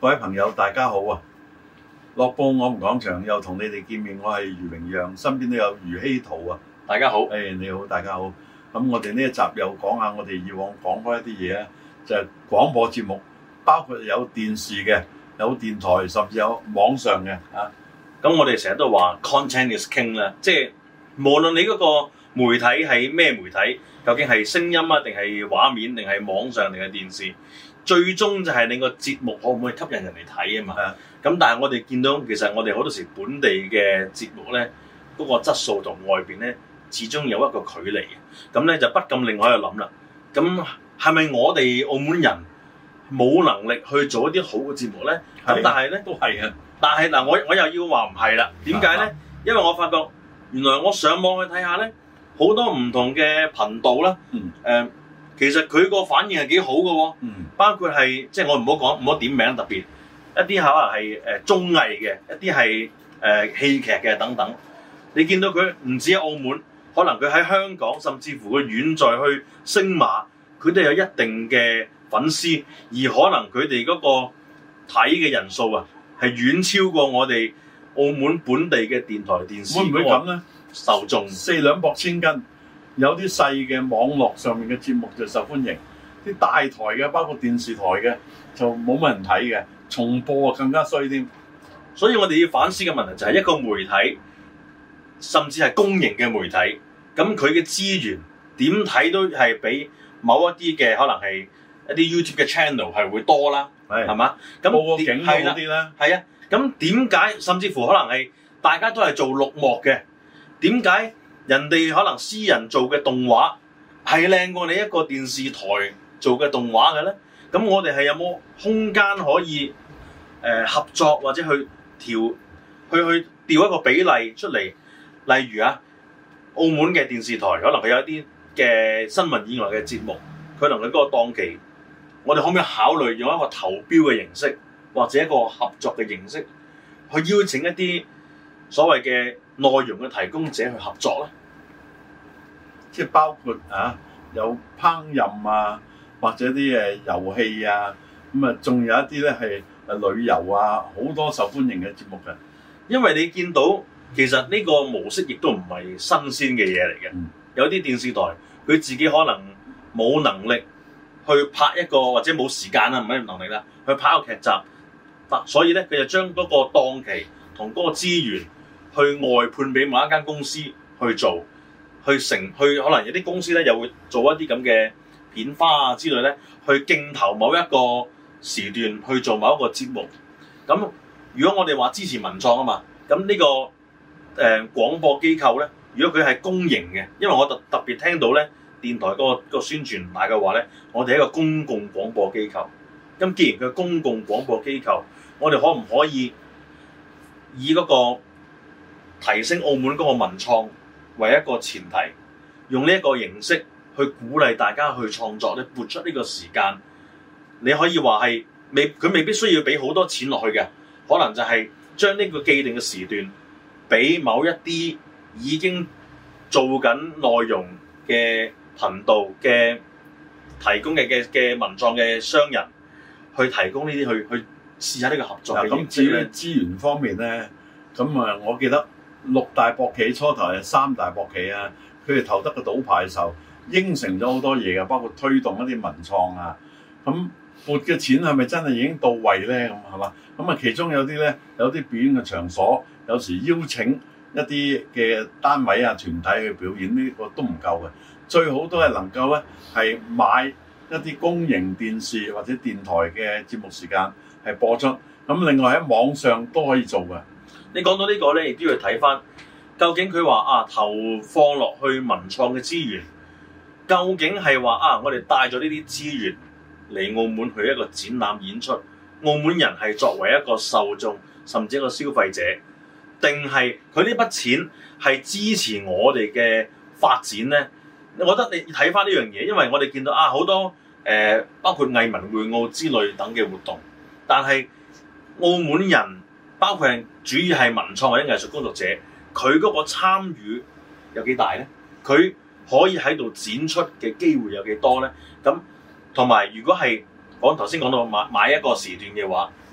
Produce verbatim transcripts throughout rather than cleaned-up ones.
各位朋友，大家好啊！樂報我們講場又同你哋見面，我係余榮陽，身邊都有余希圖啊！ 大家好， 誒、hey, 你好，大家好。咁我哋呢一集又講下我哋以往講開一啲嘢啊，就係、是、廣播節目，包括有電視嘅，有電台，甚至有網上嘅啊。 咁我哋成日都話 content is king 啦，即係無論你嗰個媒體係咩媒體，究竟係聲音啊，定係畫面，定係網上，定係電視。最終就係你個節目可唔可以吸引人嚟睇啊嘛？咁但係我哋見到其實我哋好多時本地嘅節目咧，嗰個質素同外邊咧始終有一個距離嘅。咁咧就不禁令我喺度諗啦。咁係咪我哋澳門人冇能力去做一啲好嘅節目咧？咁但係咧都係嘅。 但係嗱，我我又要話唔係啦。點解咧？因為我發覺原來我上網去睇下咧，好多唔同嘅頻道啦。嗯。誒。其實佢個反應係幾好嘅喎，嗯、包括係即係我唔好講唔好點名，特別一啲可能係誒綜藝嘅，一啲係誒戲劇嘅等等。你見到佢唔止喺澳門，可能佢喺香港，甚至乎佢遠在去星馬，佢都有一定嘅粉絲，而可能佢哋嗰個睇嘅人數啊，係遠超過我哋澳門本地嘅電台電視。會唔會咁咧？受眾四兩撥千斤。有啲細嘅網絡上面嘅節目就受歡迎，啲大台嘅包括電視台嘅就冇乜人睇嘅，重播啊更加衰添。 所以我哋要反思嘅問題就係一個媒體，甚至係公營嘅媒體，咁佢嘅資源點睇都係比某一啲嘅可能係一啲 YouTube 嘅 channel 係會多啦，係嘛？咁報個警好啲啦， 係啊。咁點解甚至乎可能係大家都係做綠幕嘅？點解？人哋可能私人做嘅動畫係靚過你一個電視台做嘅動畫嘅咧，咁我哋係有冇空間可以誒、呃、合作或者去調去去調一個比例出嚟？例如啊，澳門嘅電視台可能佢有一啲嘅新聞以外嘅節目，佢可能佢嗰個檔期，我哋可唔可以考慮用一個投標嘅形式，或者一個合作嘅形式，去邀請一啲所謂嘅內容嘅提供者去合作咧， 即係包括啊有烹飪啊，或者啲誒遊戲啊，咁啊仲有一啲咧係誒旅遊啊，好多受歡迎嘅節目嘅。 因為你見到其實呢個模式亦都唔係新鮮嘅嘢嚟嘅，嗯、有啲電視台佢自己可能冇能力去拍一個或者冇時間啊，唔係能力啦，去拍一個劇集，所以咧佢就將嗰個檔期同嗰個資源，去外判俾某一間公司去做，去成去可能有啲公司咧又會做一啲咁嘅片花啊之類咧，去競投某一個時段去做某一個節目。咁如果我哋話支持文創啊嘛，咁呢、這個誒、呃、廣播機構咧，如果佢係公營嘅，因為我特特別聽到咧電台嗰、那個那個宣傳大嘅話咧，我哋係一個公共廣播機構。咁既然佢係公共廣播機構，我哋可唔可以以嗰、那個提升澳門嗰個文創為一個前提，用呢一個形式去鼓勵大家去創作咧，撥出呢個時間，你可以話係未佢未必需要俾好多錢落去嘅，可能就係將呢個既定嘅時段俾某一啲已經做緊內容嘅頻道嘅提供嘅嘅嘅文創嘅商人去提供呢啲去去試下呢個合作嘅形式。 咁至於資源方面咧，咁啊，我記得。六大博企初頭係三大博企啊，佢哋投得個賭牌嘅時候應承咗好多嘢嘅，包括推動一啲文創啊。咁撥嘅錢係咪真係已經到位咧？咁係嘛？咁啊，其中有啲咧有啲表演嘅場所，有時邀請一啲嘅單位啊團體去表演，呢個都唔夠嘅。最好都係能夠咧係買一啲公營電視或者電台嘅節目時間係播出。咁另外喺網上都可以做嘅。 你講到呢個咧，亦都要睇翻究竟佢話啊投放落去文創嘅資源，究竟係話啊我哋帶咗呢啲資源嚟澳門去一個展覽演出，澳門人係作為一個受眾甚至一個消費者，定係佢呢筆錢係支持我哋嘅發展咧？我覺得你睇翻呢樣嘢，因為我哋見到啊好多誒、呃、包括藝文會澳之類等嘅活動，但係澳門人。包括係主要係文創或者藝術工作者，佢嗰個參與有幾大咧？佢可以喺度展出嘅機會有幾多咧？咁同埋如果係講頭先講到買買一個時段嘅話，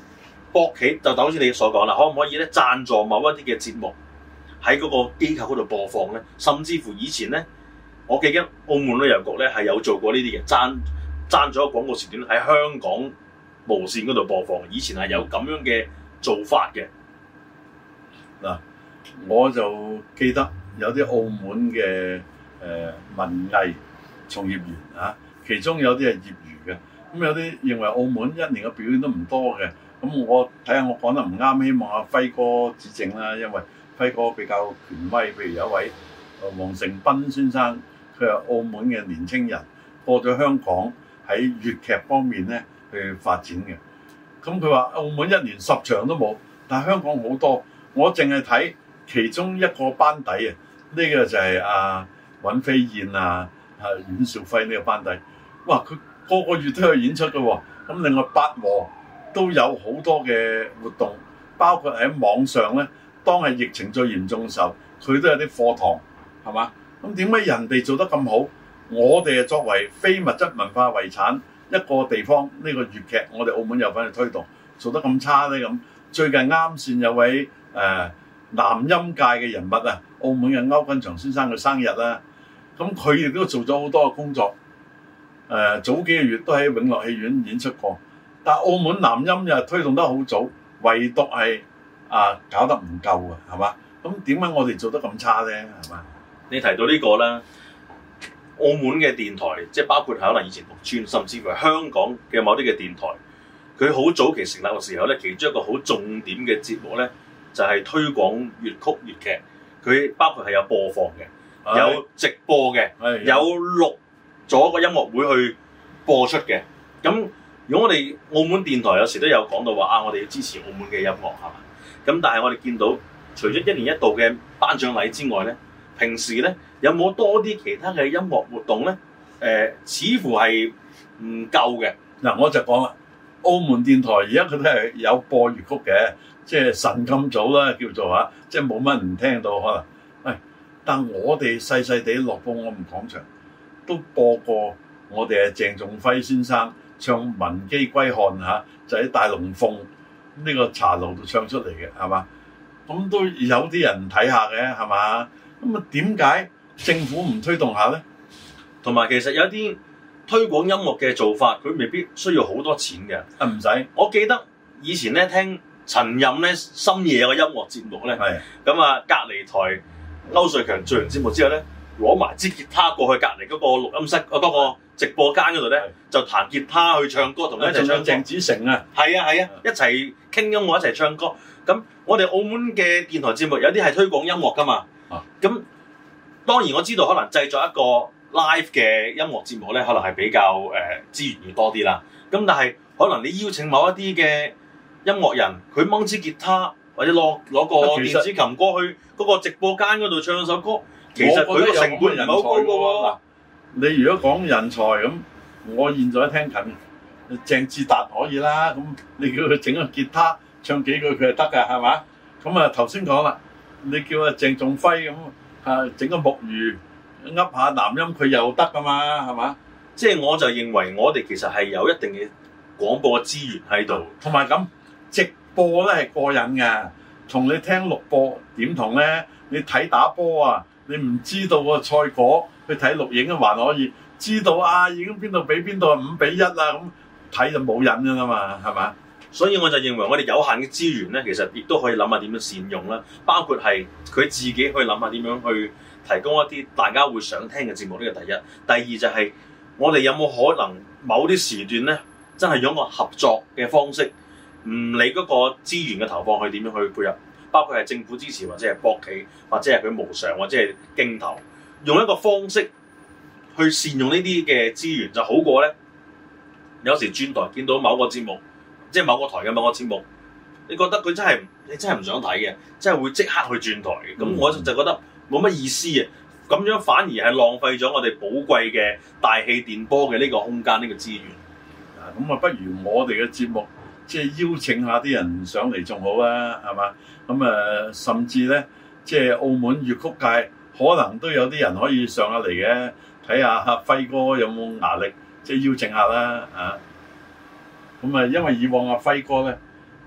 博企就好似你所講啦，可唔可以咧贊助某一啲嘅節目喺嗰個機構嗰度播放咧？甚至乎以前咧，我記得澳門旅遊局咧係有做過呢啲嘅，贊贊咗廣告時段喺香港無線嗰度播放。以前係有咁樣嘅做法嘅。 嗱，我就記得有啲澳門嘅誒、呃、文藝從業員啊，其中有啲係業餘嘅，咁有啲認為澳門一年嘅表演都唔多嘅。咁我睇下我講得唔啱，希望阿輝哥指正啦，因為輝哥比較權威。譬如有一位黃成斌先生，佢係澳門嘅年青人，過咗香港喺粵劇方面咧去發展嘅。咁佢話澳門一年十場都冇，但係香港好多。我淨係睇其中一個班底啊，呢、這個就係阿尹飛燕啊、啊阮兆輝呢個班底。哇！佢個個月都有演出嘅喎。咁另外八和都有好多嘅活動，包括喺網上咧。當係疫情最嚴重嘅時候，佢都有啲課堂，係嘛？咁點解人哋做得咁好，我哋係作為非物質文化遺產一個地方，呢、這個粵劇我哋澳門有份去推動，做得咁差咧？咁最近啱先有位誒、呃、南音界嘅人物啊，澳門嘅歐君祥先生嘅生日啦，咁佢亦都做咗好多嘅工作。誒、呃、早幾個月都喺永樂戲院演出過，但澳門南音又推動得好早，唯獨係啊搞得唔夠啊，係嘛？咁點解我哋做得咁差咧？係嘛？ 你提到呢個啦，澳門嘅電台，即係包括可能以前六村，甚至乎係香港嘅某啲嘅電台，佢好早期成立嘅時候咧，其中一個好重點嘅節目咧，就係、是、推廣粵曲粵劇。佢包括係有播放嘅， 哎、 有直播嘅， 哎、 有錄咗個音樂會去播出嘅。咁如果我哋澳門電台有時都有講到話啊，我哋要支持澳門嘅音樂係嘛？咁但係我哋見到除咗一年一度嘅頒獎禮之外咧，平時咧有冇多啲其他嘅音樂活動咧？誒、呃，似乎係唔夠嘅。 嗱，我就講啦，澳門電台而家佢都係有播粵曲嘅，即係晨咁早啦，叫做嚇，即係冇乜人聽到可能。喂、哎，但我哋細細地樂報我們講場都播過，我哋係鄭仲輝先生唱《文姬歸漢》嚇，就喺大龍鳳呢個茶樓度唱出嚟嘅，係嘛？咁都有啲人睇下嘅，係嘛？咁啊，點解政府唔推動下咧？ 同埋其實有啲推廣音樂嘅做法，佢未必需要好多錢嘅。 啊，唔使。 我記得以前咧聽陳任咧深夜有個音樂節目咧，咁啊隔離台歐瑞強做完節目之後咧，攞埋支吉他過去隔離嗰個錄音室嗰、嗰個直播間嗰度咧，就彈吉他去唱歌，同佢一齊唱。鄭子誠啊，係啊係啊，一齊傾音樂，一齊唱歌。咁我哋澳門嘅電台節目有啲係推廣音樂噶嘛，咁、啊、當然我知道可能製作一個 live 嘅音樂節目咧，可能係比較誒、呃、資源要多啲啦。咁但係可能你邀請某一啲嘅音樂人，佢掹支吉他或者攞攞個電子琴過去嗰個直播間嗰度唱首歌，其實佢個成本唔係好高㗎喎。 你如果講人才咁，我現在聽緊鄭志達可以啦，咁你叫佢整個吉他唱幾句佢係得㗎，係嘛？咁啊頭先講啦，你叫阿鄭仲輝咁啊整個木魚噏下南音佢又得㗎嘛，係嘛？ 即係我就認為我哋其實係有一定嘅廣播資源喺度， 同埋咁直播咧係過癮㗎，同你聽錄播點同咧？你睇打波啊，你唔知道個賽果，去睇錄影啊還可以知道啊，已經邊度比邊度係五比一啦，咁睇就冇癮㗎啦嘛，係嘛？ 所以我就認為我哋有限嘅資源咧，其實亦都可以諗下點樣善用啦，包括係佢自己去諗下點樣去提供一啲大家會想聽嘅節目，呢個第一。第二就係、是、我哋有冇可能某啲時段咧，真係用個合作嘅方式，唔理嗰個資源嘅投放去點樣去配合，包括係政府支持或者係博企或者係佢無償或者係競投，用一個方式去善用呢啲嘅資源就好過咧。有時轉台見到某個節目，即係某個台嘅某個節目，你覺得佢真係你真係唔想睇嘅，真係會即刻去轉台嘅。咁、嗯、我就覺得冇乜意思啊！咁樣反而係浪費咗我哋寶貴嘅大氣電波嘅呢個空間，呢、呢個資源。 啊，咁啊，不如我哋嘅節目即係邀請下啲人上嚟仲好啦，係嘛？咁啊，甚至咧，即係澳門粵曲界可能都有啲人可以上下嚟嘅，睇下阿輝哥有冇牙力。即係邀請下啦，啊！咁啊，因為以往阿輝哥咧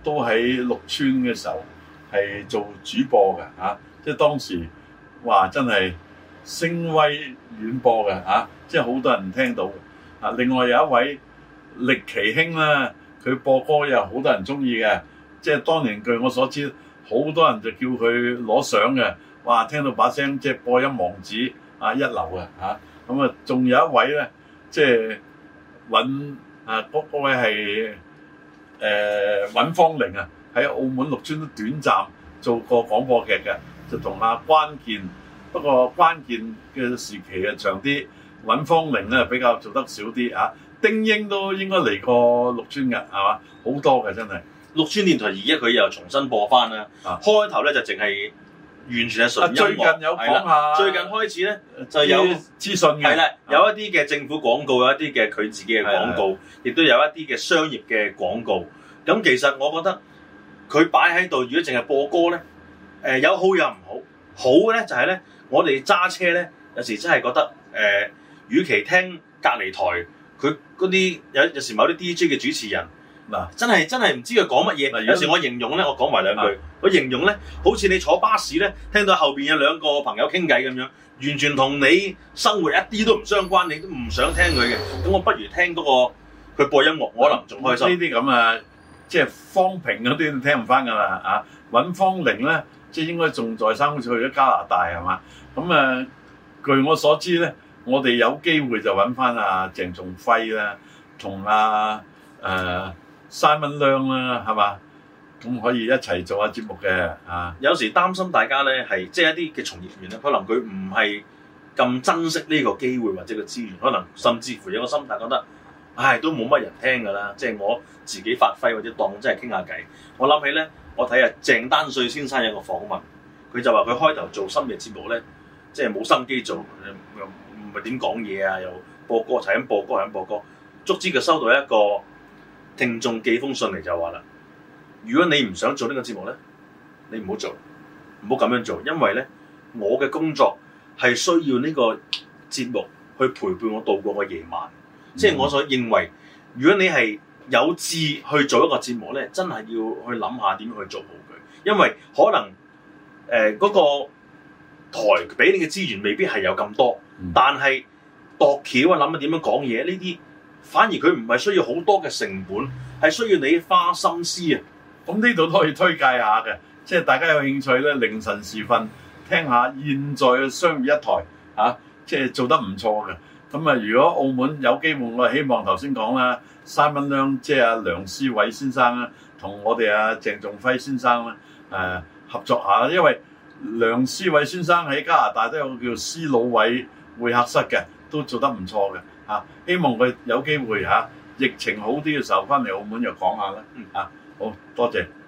都喺綠村嘅時候係做主播嘅嚇、啊，即係當時話真係聲威遠播嘅嚇、啊，即係好多人聽到嘅。啊，另外有一位力奇兄啦，佢播歌又好多人中意嘅，即係當年據我所知，好多人就叫佢攞相嘅。哇，聽到把聲即係播音王子啊，一流嘅嚇。咁啊，仲有一位咧，即係尹啊，嗰嗰位係誒尹芳玲啊，喺澳門綠村都短暫做過廣播劇嘅，就同阿關鍵，不過關鍵嘅時期啊長啲，尹芳玲咧比較做得少啲嚇、啊。丁英都應該嚟過綠村嘅，係嘛？好多嘅真係。綠村電台而家佢又重新播翻啦，啊、開頭咧就淨係完全係純音樂。 最近有講下， 最近開始咧就有資訊嘅， 係啦，有一啲嘅政府廣告，有一啲嘅佢自己嘅廣告，亦都有一啲嘅商業嘅廣告。咁其實我覺得佢擺喺度，如果淨係播歌咧，誒、呃、有好有唔好。好嘅咧就係咧，我哋揸車咧有時真係覺得誒、呃，與其聽隔離台。佢嗰啲有有時某啲 D J 嘅主持人嗱、啊，真係真係唔知佢講乜嘢。有時我形容咧，我講埋兩句。啊、我形容咧，好似你坐巴士咧，聽到後邊有兩個朋友傾偈咁樣，完全同你生活一啲都唔相關，你都唔想聽佢嘅。咁我不如聽嗰個佢播音樂，我可能仲開心。呢啲咁啊，即係方平嗰啲聽唔翻㗎啦啊！尹芳玲咧，即係應該仲在生，好似去咗加拿大係嘛？咁啊，據我所知咧。我哋有機會就揾翻阿鄭仲輝啦，同阿誒 Simon Leung 啦，係嘛？咁可以一齊做下節目嘅啊！ 有時擔心大家咧係即係一啲嘅從業員咧，可能佢唔係咁珍惜呢個機會或者個資源，可能甚至乎有個心態覺得，唉，都冇乜人聽㗎啦，即係我自己發揮或者當真係傾下偈。我諗起咧，我睇下鄭丹瑞先生有個訪問，佢就話佢開頭做深夜節目咧，即係冇心機做。唔係點講嘢啊？又播歌，係咁播歌，係咁播歌。足之佢收到一個聽眾寄封信嚟就話啦：如果你唔想做呢個節目咧，你唔好做，唔好咁樣做，因為咧我嘅工作係需要呢個節目去陪伴我度過個夜晚。嗯、即係我所認為，如果你係有志去做一個節目咧，真係要去諗下點樣去做好佢，因為可能誒嗰、呃嗰個台俾你嘅資源未必係有咁多。但係度橋啊，諗下點樣講嘢呢啲，反而佢唔係需要好多嘅成本，係需要你花心思啊。 咁呢度都可以推介下嘅，即係大家有興趣咧，凌晨時分聽下現在嘅商業一台嚇、啊，即係做得唔錯嘅。咁啊，如果澳門有機會，我希望頭先講啦，Simon Leung即係阿梁思偉先生啦，同我哋阿鄭仲輝先生咧誒、啊、合作下，因為梁思偉先生喺加拿大都有個叫思老偉會客室嘅，都做得唔錯嘅嚇。希望佢有機會嚇、啊，疫情好啲嘅時候翻嚟澳門又講下啦。嗯啊，好多謝。